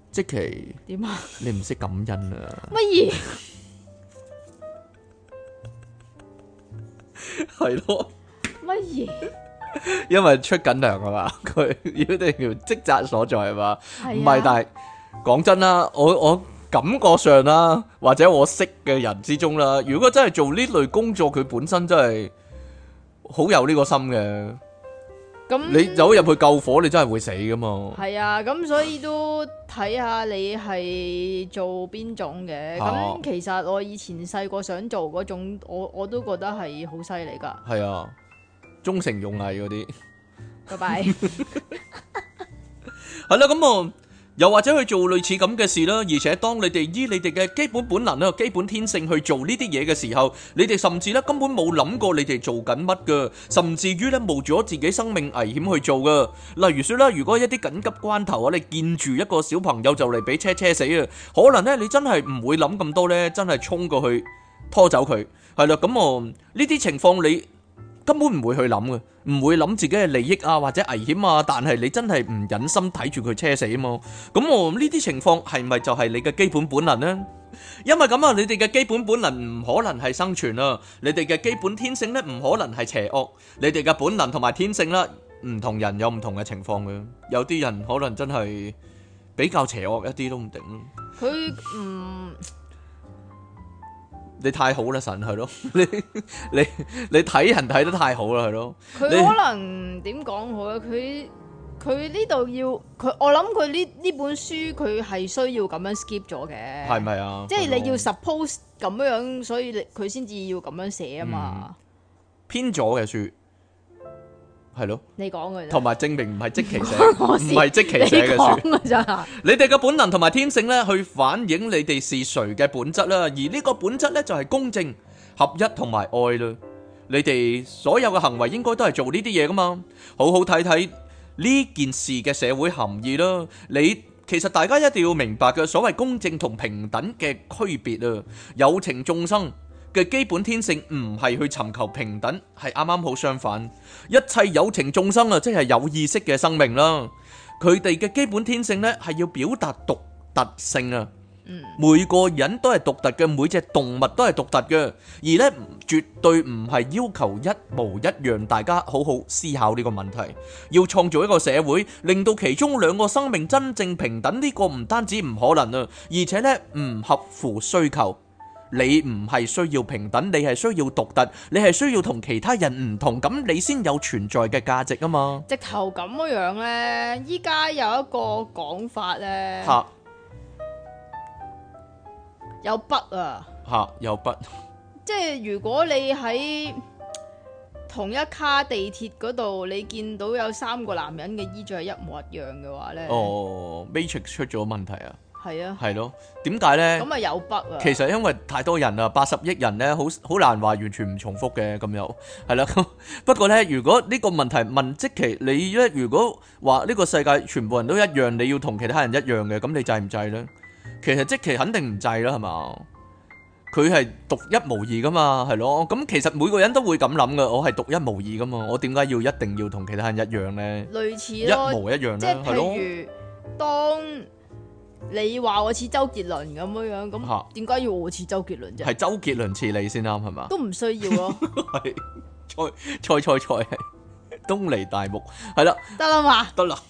即其點啊？ 你唔識感恩啊？ 乜嘢？ 係咯？ 乜嘢？ 因為出緊糧啊嘛，佢一定要職責所在係嘛？唔係、啊，但係講真啦，我我感覺上啦，或者我識嘅人之中啦，如果真係做呢類工作，佢本身真係好有呢個心嘅。咁你走入去救火，你真係會死噶嘛？係啊，咁所以都睇下你係做邊種嘅。咁、啊、其實我以前細個想做嗰種，我我都覺得係好犀利噶。 係啊，忠誠勇毅嗰啲。 拜拜。 係啦，咁啊。又或者去做類似咁嘅事啦，而且當你哋依你哋嘅基本本能啦、基本天性去做呢啲嘢嘅時候，你哋甚至咧根本冇諗過你哋做緊乜噶，甚至於咧冒咗自己生命危險去做噶。例如說啦，如果一啲緊急關頭啊，你見住一個小朋友就嚟俾車車死啊，可能咧你真係唔會諗咁多咧，真係衝過去拖走佢。係啦，咁我呢啲情況你根本唔會去諗嘅，唔會諗自己嘅利益啊或者危險啊，但係你真係唔忍心睇住佢車死啊嘛。咁我呢啲情況係咪就係你嘅基本本能呢？因為咁啊，你哋嘅基本本能唔可能係生存啊，你哋嘅基本天性咧唔可能係邪惡，你哋嘅本能同埋天性啦，唔同人有唔同嘅情況嘅，有啲人可能真係比較邪惡一啲都唔定。 佢唔。 你太好啦，神係咯，你你你睇人睇得太好啦，係咯。 佢可能點講好咧？佢佢呢度要佢，我諗佢呢呢本書佢係需要咁樣 skip 咗嘅，係咪啊？即係你要 suppose 咁樣，所以你佢先至要咁樣寫啊嘛。嗯、偏咗嘅書係咯， 你講嘅， 同埋證明唔係即其寫，唔係即其寫嘅書。你哋嘅本能同埋天性咧，去反映你哋是誰嘅本質啦。而呢個本質咧，就係公正、合一同埋愛啦。你哋所有嘅行為應該都係做呢啲嘢噶嘛。好好睇睇呢件事嘅社會含義啦。你其實大家一定要明白嘅所謂公正同平等嘅區別啊。有情眾生嘅基本天性唔係去尋求平等，係啱啱好相反。一切有情眾生啊，即係有意識嘅生命啦，佢哋嘅基本天性呢係要表達獨特性啊。嗯、每個人都係獨特嘅，每隻動物都係獨特嘅，而呢絕對唔係要求一模一樣。大家好好思考呢個問題，要創造一個社會，令到其中兩個生命真正平等，呢個唔單止唔可能啊，而且呢唔合乎需求。你唔係需要平等，你係需要獨特，你係需要同其他人唔同，咁你先有存在嘅價值啊嘛。 直頭咁樣呢，依家有一個講法呢， 吓有筆啊， 吓有筆， 即係如果你喺同一卡地鐵嗰度，你見到有三個男人嘅衣着係一模一樣嘅話呢， 哦 Matrix 出咗問題啊。 係啊， 係咯，點解呢？ 咁啊有筆啊。其實因為太多人啦，八十億人呢，好好難話完全唔重複嘅，咁又係啦。不過呢，如果呢個問題問即其你咧，如果話呢個世界全部人都一樣，你要同其他人一樣嘅，咁你制唔制呢？其實即其肯定唔制啦，係嘛？佢係獨一無二噶嘛，係咯。咁其實每個人都會咁諗噶，我係獨一無二噶嘛，我點解要一定要同其他人一樣呢？ 類似咯，一模一樣即係譬如當。你話我似周杰倫咁樣樣，咁點解要我似周杰倫啫？ 係周杰倫似你先啱係嘛？ 都唔需要咯。 係菜菜菜菜係東尼大木係啦， 得啦嘛， 得啦。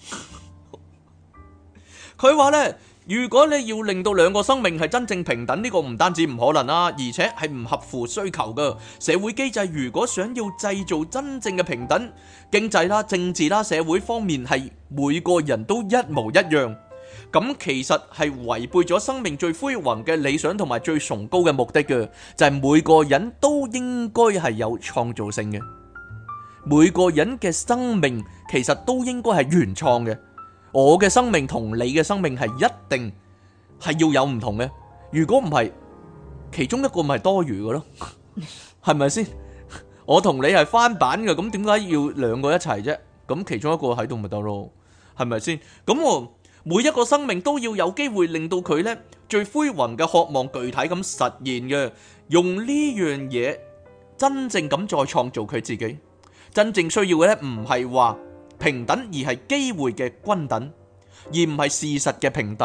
佢話咧，如果你要令到兩個生命係真正平等，呢個唔單止唔可能啦，而且係唔合乎需求噶。社會機制如果想要製造真正嘅平等，經濟啦、政治啦、社會方面係每個人都一模一樣。咁其實係違背咗生命最輝煌嘅理想同埋最崇高嘅目的嘅，就係每個人都應該係有創造性嘅，每個人嘅生命其實都應該係原創嘅。我嘅生命同你嘅生命係一定係要有唔同嘅，如果唔係，其中一個咪多餘嘅咯，係咪先？我同你係翻版嘅，咁點解要兩個一齊啫？咁其中一個喺度咪得咯，係咪先？咁我。每一個生命都要有機會令到佢呢最輝煌嘅渴望具體咁實現嘅，用呢樣嘢真正咁再創造佢自己。真正需要嘅呢唔係話平等，而係機會嘅均等，而唔係事實嘅平等。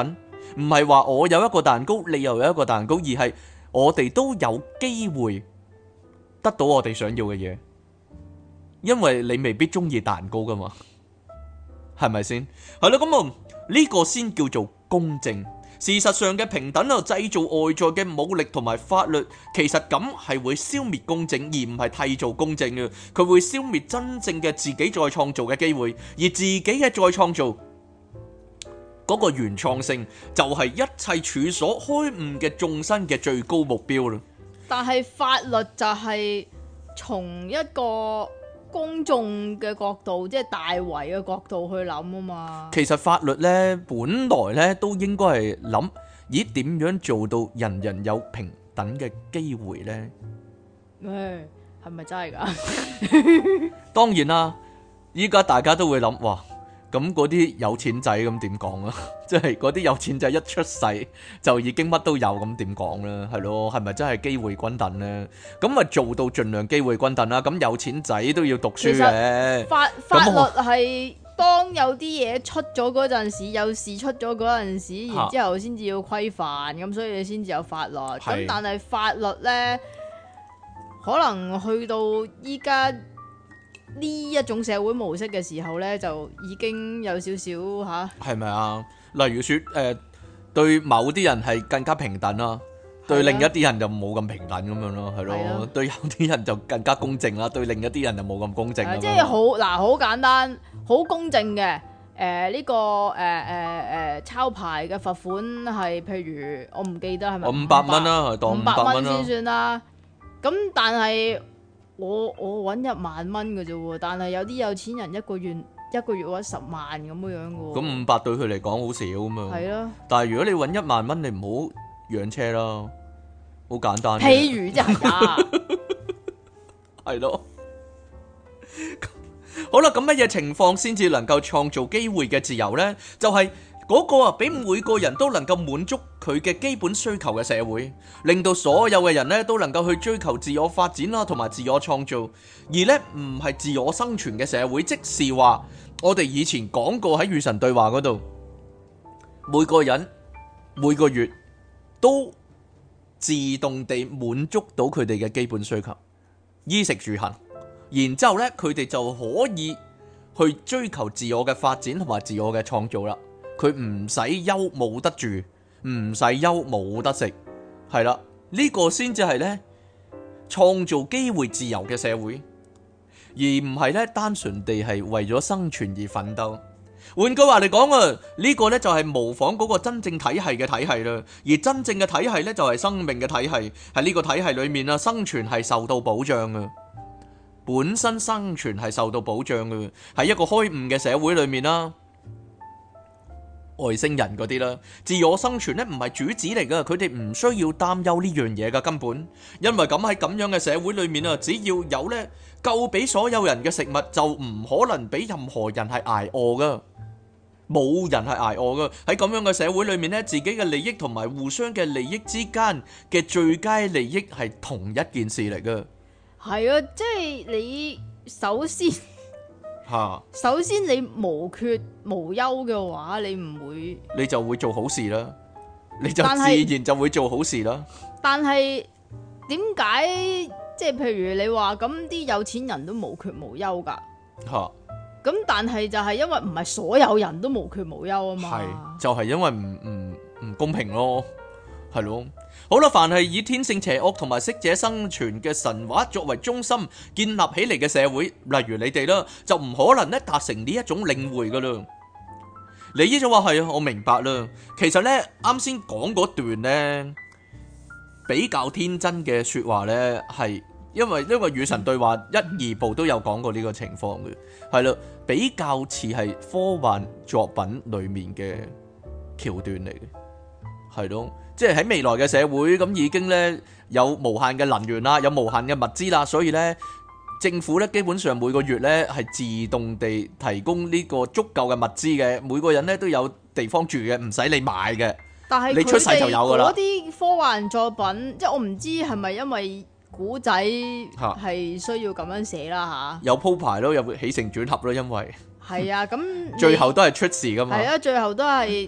唔係話我有一個蛋糕，你又有一個蛋糕，而係我哋都有機會得到我哋想要嘅嘢，因為你未必中意蛋糕噶嘛，係咪先？係咯，咁啊呢個先叫做公正。事實上嘅平等啊，製造外在嘅武力同埋法律，其實咁係會消滅公正，而唔係締造公正嘅。佢會消滅真正嘅自己再創造嘅機會，而自己嘅再創造嗰個原創性，就係一切處所開悟嘅眾生嘅最高目標啦。 但係法律就係從一個公眾嘅角度，即係大圍嘅角度去諗啊嘛。其實法律呢，本來呢都應該係諗，咦點樣做到人人有平等嘅機會呢？誒，係咪真係㗎？當然啦，依家大家都會諗，哇！咁嗰啲有錢仔咁點講啊？即係嗰啲有錢仔一出世就已經乜都有，咁點講咧？係咯，係咪真係機會均等咧？咁咪做到盡量機會均等啦。咁有錢仔都要讀書嘅。法法律係當有啲嘢出咗嗰陣時，有事出咗嗰陣時，然之後先至要規範，咁所以你先至有法律。咁但係法律咧，可能去到依家呢一種社會模式嘅時候呢，就已經有少少吓，係咪啊？例如說，誒、呃，對某啲人係更加平等啦，對另一啲人就冇咁平等咁樣咯，係咯。對有啲人就更加公正啦，對另一啲人就冇咁公正。即係好嗱，好簡單，好公正嘅。誒、呃，呢、這個誒誒誒抄牌嘅罰款係，譬如我唔記得係咪？我五百蚊啦，當五百蚊先算啦。咁但係。我我搵一萬蚊嘅啫，但係有啲有錢人一個月一個月搵十萬咁樣樣嘅。咁五百對佢嚟講好少咁嘛。係咯。但係如果你搵一萬蚊，你唔好養車啦，好簡單。譬如即係啊，係咯。好啦，咁乜嘢情況先至能夠創造機會嘅自由呢？就係、是。嗰個啊，俾每個人都能夠滿足佢嘅基本需求嘅社會，令到所有嘅人咧都能夠去追求自我發展啦，同埋自我創造，而咧唔係自我生存嘅社會。即是話，我哋以前講過喺與神對話嗰度，每個人每個月都自動地滿足到佢哋嘅基本需求，衣食住行，然之後咧佢哋就可以去追求自我嘅發展同埋自我嘅創造啦。佢唔使憂冇得住，唔使憂冇得食，係啦，呢個先至係咧創造機會自由嘅社會，而唔係咧單純地係為咗生存而奮鬥。換句話嚟講啊，呢個咧就係模仿嗰個真正體系嘅體系啦，而真正嘅體系咧就係生命嘅體系，喺呢個體系裏面啊，生存係受到保障嘅，本身生存係受到保障嘅，喺一個開悟嘅社會裏面啦。外星人嗰啲啦，自我生存咧唔係主旨嚟噶，佢哋唔需要擔憂呢樣嘢噶根本，因為咁喺咁樣嘅社會裏面啊，只要有咧夠俾所有人嘅食物，就唔可能俾任何人係挨餓噶，冇人係挨餓噶。喺咁樣嘅社會裏面咧，自己嘅利益同埋互相嘅利益之間嘅最佳利益係同一件事嚟噶。係啊，即係你首先。首先你無缺無憂嘅話，你唔會，你就會做好事啦，你就自然就會做好事啦。但係點解即係譬如你話咁啲有錢人都無缺無憂噶？吓，咁但係就係因為唔係所有人都無缺無憂啊嘛。係，就係因為唔唔唔公平咯，係咯。好啦，凡係以天性邪惡同埋適者生存嘅神話作為中心建立起嚟嘅社會，例如你哋啦，就唔可能咧達成呢一種領會噶啦。你呢就話係啊，我明白啦。其實咧，啱先講嗰段咧比較天真嘅說話咧，係因為因為與神對話一二部都有講過呢個情況嘅，係啦，比較似係科幻作品裏面嘅橋段嚟嘅，係咯。即係喺未來嘅社會，咁已經咧有無限嘅能源啦，有無限嘅物資啦，所以咧政府咧基本上每個月咧係自動地提供呢個足夠嘅物資嘅，每個人咧都有地方住嘅，唔使你買嘅。但係你出世就有噶啦。嗰啲科幻作品，即係我唔知係咪因為古仔係需要咁樣寫啦吓。有鋪排咯，有起承轉合咯，因為係啊，咁最後都係出事噶嘛。係啊，最後都係。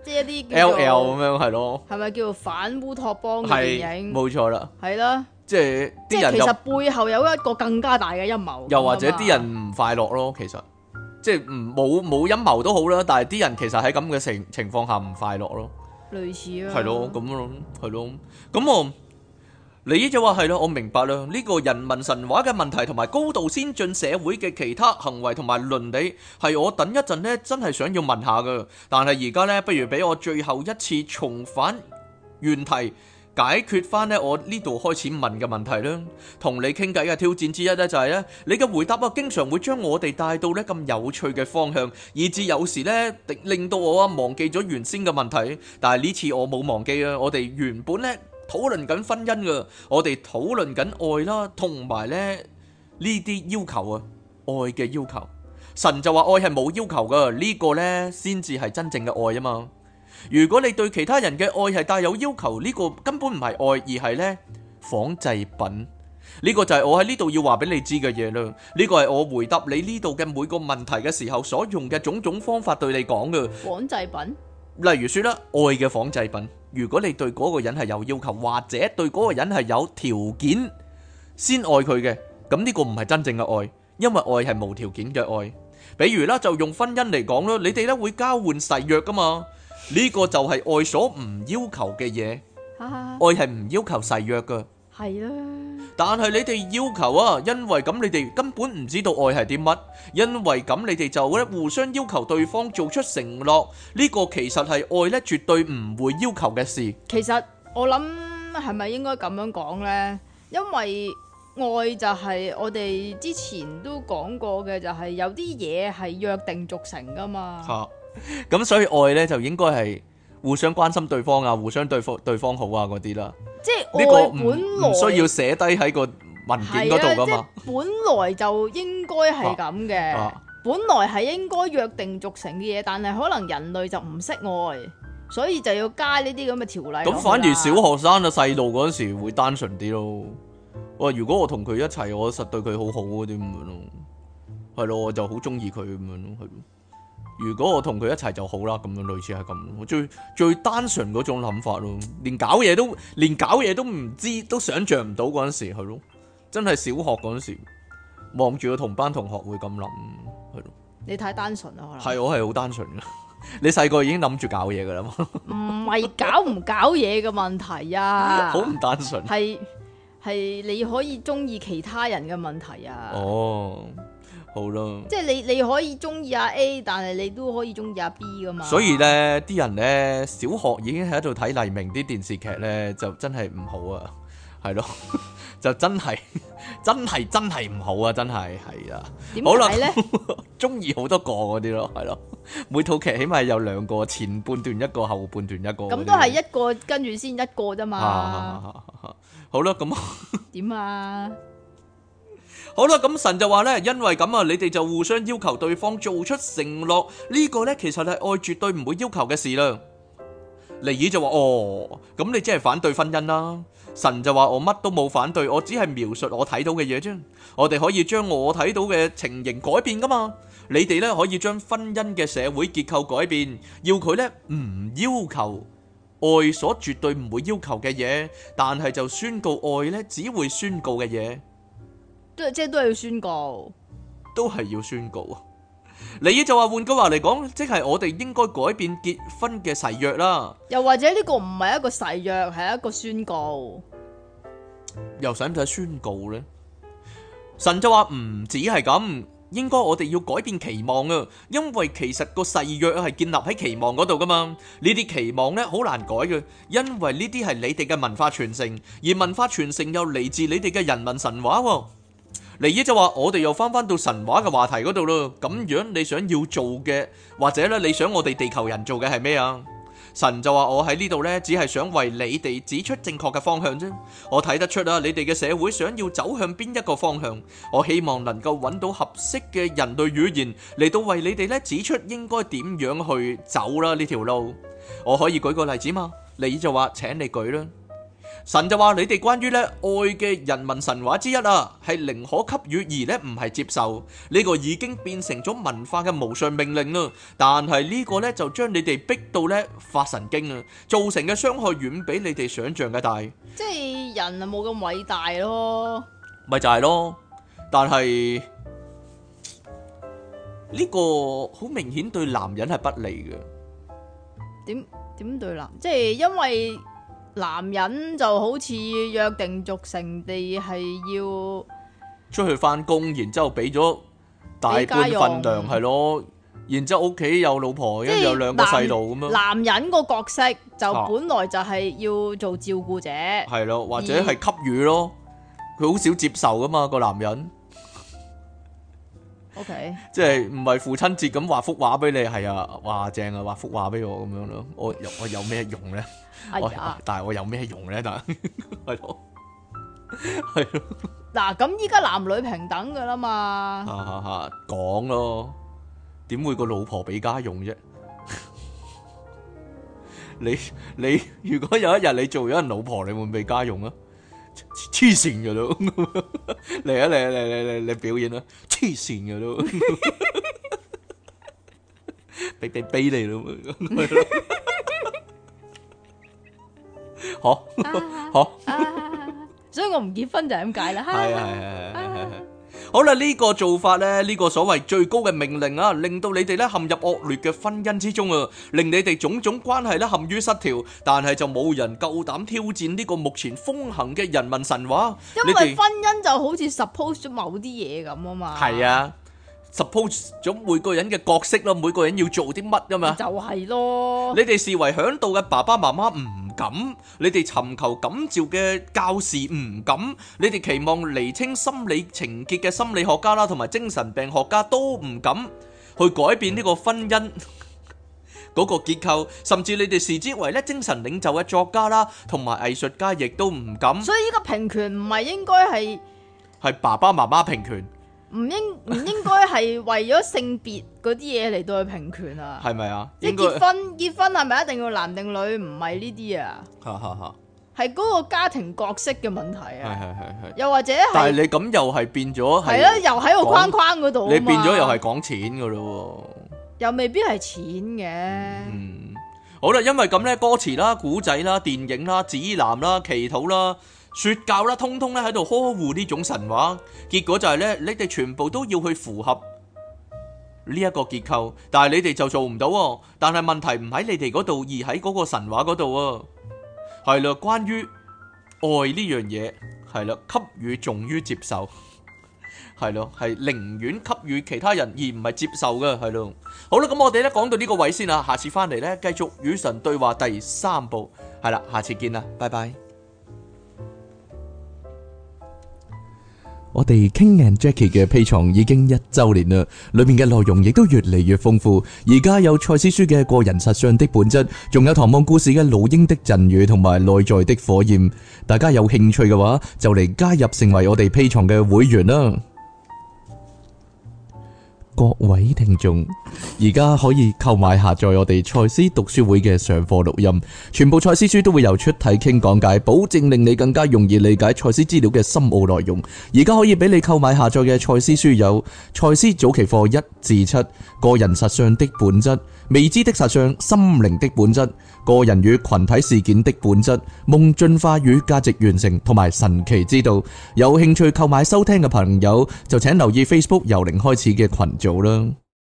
即係一啲 L L 咁樣係咯， 係咪叫做反烏托邦嘅電影？ 冇錯啦， 係啦， 即係即係其實背後有一個更加大嘅陰謀， 又或者啲人唔快樂咯，其實即係唔冇冇陰謀都好啦，但係啲人其實喺咁嘅情情況下唔快樂咯， 類似啊， 係咯咁咯，係咯，咁我。你就話係咯，我明白啦。呢個人民神話嘅問題同埋高度先進社會嘅其他行為同埋倫理，係我等一陣呢真係想要問下噶。但係而家呢，不如俾我最後一次重返原題，解決翻呢我呢度開始問嘅問題啦。同你傾偈嘅挑戰之一呢，就係呢：你嘅回答啊，經常會將我哋帶到呢咁有趣嘅方向，以至有時呢令到我啊忘記咗原先嘅問題。但係呢次我冇忘記啊，我哋原本呢。討論緊婚姻噶，我哋討論緊愛啦，同埋咧呢啲要求啊，愛嘅要求。神就話愛係冇要求噶，呢個呢先至係真正嘅愛啊嘛。如果你對其他人嘅愛係帶有要求，呢個根本唔係愛，而係呢仿製品。呢個就係我喺呢度要話俾你知嘅嘢啦。呢個係我回答你呢度嘅每個問題嘅時候所用嘅種種方法對你講嘅仿製品。 例如說啦，愛嘅仿製品。如果你對嗰個人係有要求，或者對嗰個人係有條件先愛佢嘅，咁呢個唔係真正嘅愛，因為愛係無條件嘅愛。比如啦，就用婚姻嚟講啦，你哋咧會交換誓約噶嘛，呢個就係愛所唔要求嘅嘢。愛係唔要求誓約噶。 係啦， 但係你哋要求啊，因為咁你哋根本唔知道愛係啲乜，因為咁你哋就咧互相要求對方做出承諾，呢個其實係愛咧絕對唔會要求嘅事。 其實我諗係咪應該咁樣講呢？因為愛就係我哋之前都講過嘅，就係有啲嘢係約定俗成噶嘛。 吓，咁所以愛咧就應該係互相關心對方啊，互相對方對方好啊嗰啲啦。即係呢個本來唔需要寫低喺個文件嗰度噶嘛， 即係本來就應該係咁嘅，啊啊、本來係應該約定俗成嘅嘢，但係可能人類就唔識愛，所以就要加呢啲咁嘅條例。咁反而小學生啊細路嗰陣時會單純啲咯。哇！如果我同佢一齊，我實對佢好好嗰啲咁樣咯，係咯，我就好中意佢咁樣咯，係咯。如果我同佢一齊就好啦，咁樣類似係咁，最最單純嗰種諗法咯，連搞嘢都連搞嘢都唔知，都想象唔到嗰陣時係咯，真係小學嗰陣時望住個同班同學會咁諗，係咯。你太單純啦，可能係我係好單純噶。你細個已經諗住搞嘢噶啦嘛？唔係搞唔搞嘢嘅問題啊，好唔單純，係係你可以中意其他人嘅問題啊。哦。好咯，即係你你可以中意阿 A，但係你都可以中意阿 B 噶嘛。所以咧，啲人咧小學已經喺度睇黎明啲電視劇咧，就真係唔好啊，係咯，就真係真係真係唔好啊，真係係啊。點解咧？中意好多個嗰啲咯，係咯，每套劇起碼有兩個，前半段一個，後半段一個。咁都係一個跟住先一個啫嘛。好啦，咁點啊？好啦，咁神就話咧，因為咁啊，你哋就互相要求對方做出承諾，呢個咧其實係愛絕對唔會要求嘅事啦。尼爾就話：哦，咁你即係反對婚姻啦。神就話：我乜都冇反對，我只係描述我睇到嘅嘢啫。我哋可以將我睇到嘅情形改變噶嘛。你哋咧可以將婚姻嘅社會結構改變，要佢咧唔要求愛所絕對唔會要求嘅嘢，但係就宣告愛咧只會宣告嘅嘢。都即係都係要宣告，都係要宣告啊！尼爾就話，換句話嚟講，即係我哋應該改變結婚嘅誓約啦。又或者呢個唔係一個誓約，係一個宣告。又使唔使宣告呢？神就話唔止係咁，應該我哋要改變期望啊！因為其實個誓約係建立喺期望嗰度噶嘛。呢啲期望呢好難改嘅，因為呢啲係你哋嘅文化傳承，而文化傳承又嚟自你哋嘅人民神話。尼爾就話：我哋又翻翻到神話嘅話題嗰度咯。咁樣你想要做嘅，或者咧你想我哋地球人做嘅係咩啊？神就話：我喺呢度呢，只係想為你哋指出正確嘅方向啫。我睇得出啊，你哋嘅社會想要走向邊一個方向。我希望能夠揾到合適嘅人類語言嚟到為你哋咧指出應該點樣去走啦呢條路。我可以舉個例子嘛？尼爾就話：請你舉啦。 神就話你哋關於咧愛嘅人民神話之一啊，係寧可給予而咧唔係接受，呢個已經變成咗文化嘅無上命令啦。但係呢個咧就將你哋逼到咧發神經啊，造成嘅傷害遠比你哋想象嘅大。 即係人啊冇咁偉大咯， 咪就係咯。但係呢個好明顯對男人係不利嘅。 點點對男？即係因為。男人就好似約定俗成地係要出去翻工，然之後俾咗大半份糧係咯，然之後屋企有老婆，跟住有兩個細路咁樣。 男人個角色就本來就係要做照顧者， 係咯，或者係給予咯，佢好少接受噶嘛個男人。 O K， 即係唔係父親節咁畫幅畫俾你，係啊，哇正啊，畫幅畫俾我咁樣咯，我我有咩用咧？ 哎呀， 但係我有咩用咧？但係係咯，係咯。 嗱，咁依家男女平等噶啦嘛。 哈哈哈，講咯，點會個老婆俾家用啫？你你如果有一日你做咗人老婆，你會唔會俾家用啊？黐線噶都，嚟啊嚟啊嚟嚟嚟嚟表演啦！黐線噶都，俾俾俾你咯，好好， 所以我唔結婚就係咁解啦。 係係係係係。好啦，呢個做法咧，呢個所謂最高嘅命令啊，令到你哋咧陷入惡劣嘅婚姻之中啊，令你哋種種關係咧陷於失調，但係就冇人夠膽挑戰呢個目前風行嘅人民神話。 因為婚姻就好似 suppose 咗某啲嘢咁啊嘛。 係啊，suppose 咗每個人嘅角色咯，每個人要做啲乜噶嘛。 就係咯。 你哋視為嚮導嘅爸爸媽媽唔敢，你哋尋求感召嘅教士唔敢，你哋期望釐清心理情結嘅心理學家啦，同埋精神病學家都唔敢去改變呢個婚姻嗰個結構，甚至你哋視之為咧精神領袖嘅作家啦，同埋藝術家亦都唔敢。 所以呢個平權唔係應該係係爸爸媽媽平權， 唔應唔應該係為咗性別嗰啲嘢嚟到去平權啊？ 係咪啊？ 即係結婚結婚係咪一定要男定女？唔係呢啲啊，係嗰個家庭角色嘅問題啊。係係係係。又或者係，但係你咁又係變咗係啦，又喺個框框嗰度， 你變咗又係講錢噶咯， 又未必係錢嘅。 嗯，好啦，因為咁咧，歌詞啦、古仔啦、電影啦、指南啦、祈禱啦、說教啦，通通咧喺度呵護呢種神話，結果就係咧，你哋全部都要去符合呢一個結構，但係你哋就做唔到。但係問題唔喺你哋嗰度，而喺嗰個神話嗰度啊。係啦，關於愛呢樣嘢，係啦，給予重於接受，係咯，係寧願給予其他人而唔係接受嘅，係咯。好啦，咁我哋咧講到呢個位先啦，下次翻嚟咧繼續與神對話第三部，係啦，下次見啦，拜拜。我哋 King and Jackie 嘅 Patreon已經一周年啦，裏面嘅內容亦都越嚟越豐富。而家有賽斯書嘅個人實相的本質，仲有唐望故事嘅老鷹的贈語同埋內在的火焰。大家有興趣嘅話，就嚟加入成為我哋 Patreon嘅會員啦。各位聽眾，而家可以購買下載我哋賽斯讀書會嘅上課錄音，全部賽斯書都會由出體傾講解，保證令你更加容易理解賽斯資料嘅深奧內容。而家可以俾你購買下載嘅賽斯書有賽斯早期課一至七、個人實相的本質、未知的實相、心靈的本質、個人與群體事件的本質、夢進化與價值完成同埋神奇之道。有興趣購買收聽嘅朋友就請留意 Facebook 由零開始嘅群組啦。